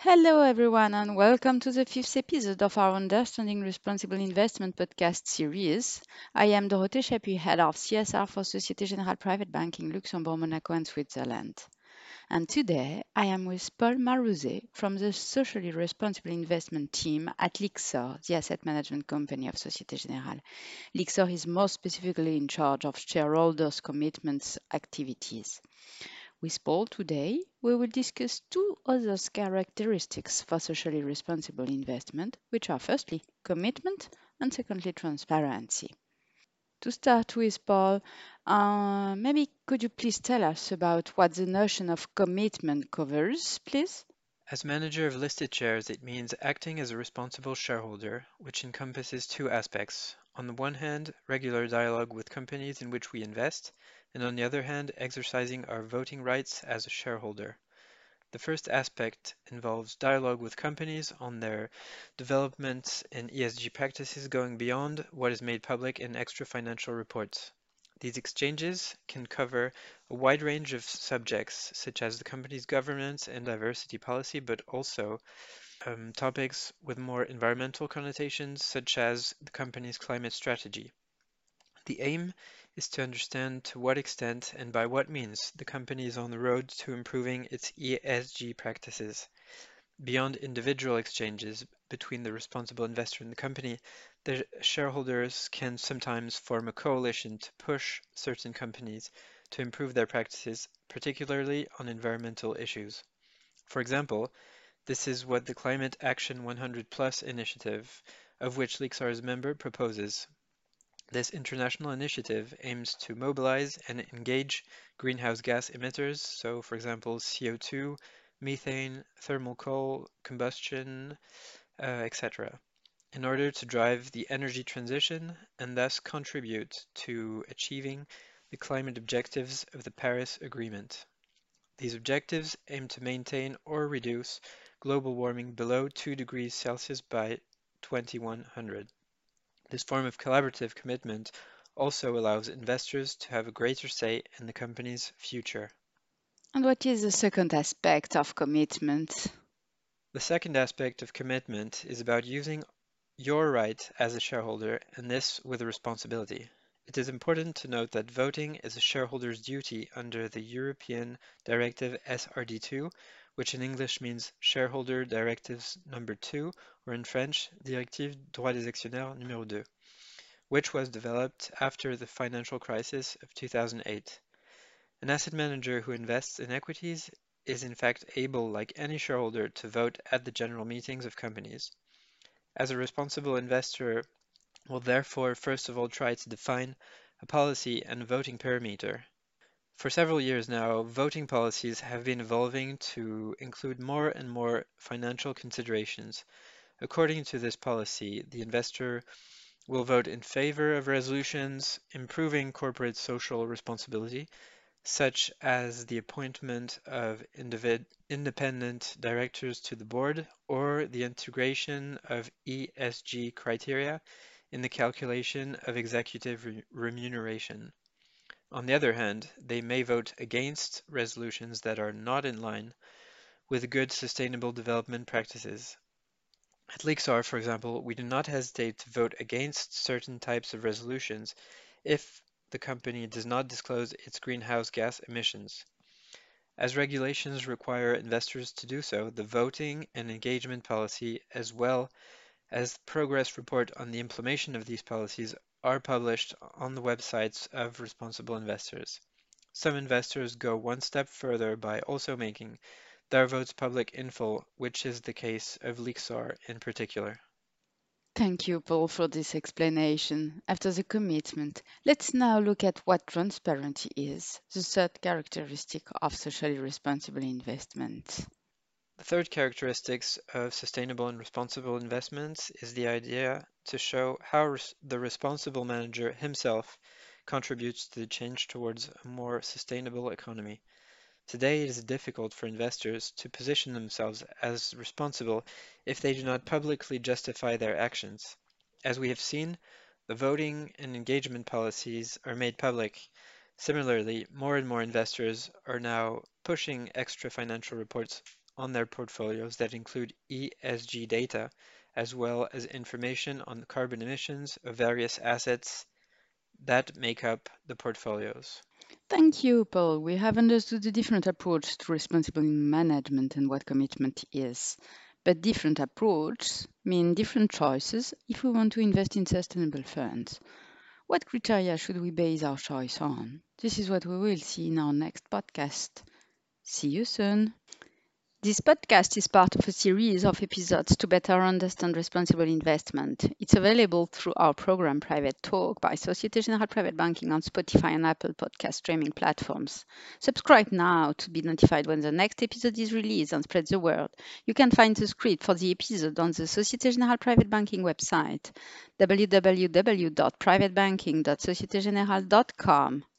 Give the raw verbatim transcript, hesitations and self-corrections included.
Hello, everyone, and welcome to the fifth episode of our Understanding Responsible Investment podcast series. I am Dorothée Chapuis, head of C S R for Société Générale Private Banking, Luxembourg, Monaco, and Switzerland. And today I am with Paul Marouzet from the Socially Responsible Investment team at Lyxor, the asset management company of Société Générale. Lyxor is more specifically in charge of shareholders' commitments activities. With Paul today, we will discuss two other characteristics for socially responsible investment, which are firstly commitment and secondly transparency. To start with, Paul, uh, maybe could you please tell us about what the notion of commitment covers, please? As manager of listed shares, it means acting as a responsible shareholder, which encompasses two aspects. On the one hand, regular dialogue with companies in which we invest, and on the other hand, exercising our voting rights as a shareholder. The first aspect involves dialogue with companies on their developments in E S G practices going beyond what is made public in extra financial reports. These exchanges can cover a wide range of subjects, such as the company's governance and diversity policy, but also um, topics with more environmental connotations, such as the company's climate strategy. The aim is to understand to what extent and by what means the company is on the road to improving its E S G practices. Beyond individual exchanges between the responsible investor and the company, the shareholders can sometimes form a coalition to push certain companies to improve their practices, particularly on environmental issues. For example, this is what the Climate Action one hundred Plus initiative, of which Lixar is a member, proposes. This international initiative aims to mobilize and engage greenhouse gas emitters, so for example C O two, methane, thermal coal, combustion, uh, et cetera, in order to drive the energy transition and thus contribute to achieving the climate objectives of the Paris Agreement. These objectives aim to maintain or reduce global warming below two degrees Celsius by twenty-one hundred. This form of collaborative commitment also allows investors to have a greater say in the company's future. And what is the second aspect of commitment? The second aspect of commitment is about using your right as a shareholder, and this with a responsibility. It is important to note that voting is a shareholder's duty under the European Directive S R D two, which in English means Shareholder Directives Number two, or in French, Directive Droit des Actionnaires Numéro deux, which was developed after the financial crisis of two thousand eight. An asset manager who invests in equities is in fact able, like any shareholder, to vote at the general meetings of companies. As a responsible investor will therefore first of all try to define a policy and a voting parameter. For several years now, voting policies have been evolving to include more and more financial considerations. According to this policy, the investor will vote in favor of resolutions improving corporate social responsibility, such as the appointment of individ- independent directors to the board or the integration of E S G criteria in the calculation of executive re- remuneration. On the other hand, they may vote against resolutions that are not in line with good sustainable development practices. At Lixar, for example, we do not hesitate to vote against certain types of resolutions if the company does not disclose its greenhouse gas emissions. As regulations require investors to do so, the voting and engagement policy, as well as the progress report on the implementation of these policies, are published on the websites of responsible investors. Some investors go one step further by also making their votes public in full, which is the case of Lixar in particular. Thank you, Paul, for this explanation. After the commitment, let's now look at what transparency is, the third characteristic of socially responsible investment. The third characteristic of sustainable and responsible investments is the idea to show how res- the responsible manager himself contributes to the change towards a more sustainable economy. Today, it is difficult for investors to position themselves as responsible if they do not publicly justify their actions. As we have seen, the voting and engagement policies are made public. Similarly, more and more investors are now pushing extra financial reports on their portfolios that include E S G data, as well as information on the carbon emissions of various assets that make up the portfolios. Thank you, Paul. We have understood the different approach to responsible management and what commitment is. But different approaches mean different choices if we want to invest in sustainable funds. What criteria should we base our choice on? This is what we will see in our next podcast. See you soon. This podcast is part of a series of episodes to better understand responsible investment. It's available through our program Private Talk by Société Générale Private Banking on Spotify and Apple podcast streaming platforms. Subscribe now to be notified when the next episode is released and spread the word. You can find the script for the episode on the Société Générale Private Banking website, w w w dot private banking dot societe generale dot com.